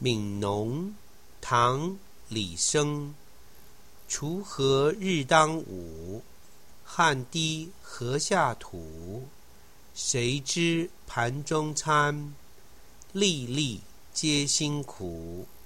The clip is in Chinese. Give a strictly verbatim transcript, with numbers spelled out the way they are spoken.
憫農，唐·李昇。鋤禾日當午，汗滴禾下土。誰知盤中餐，粒粒皆辛苦。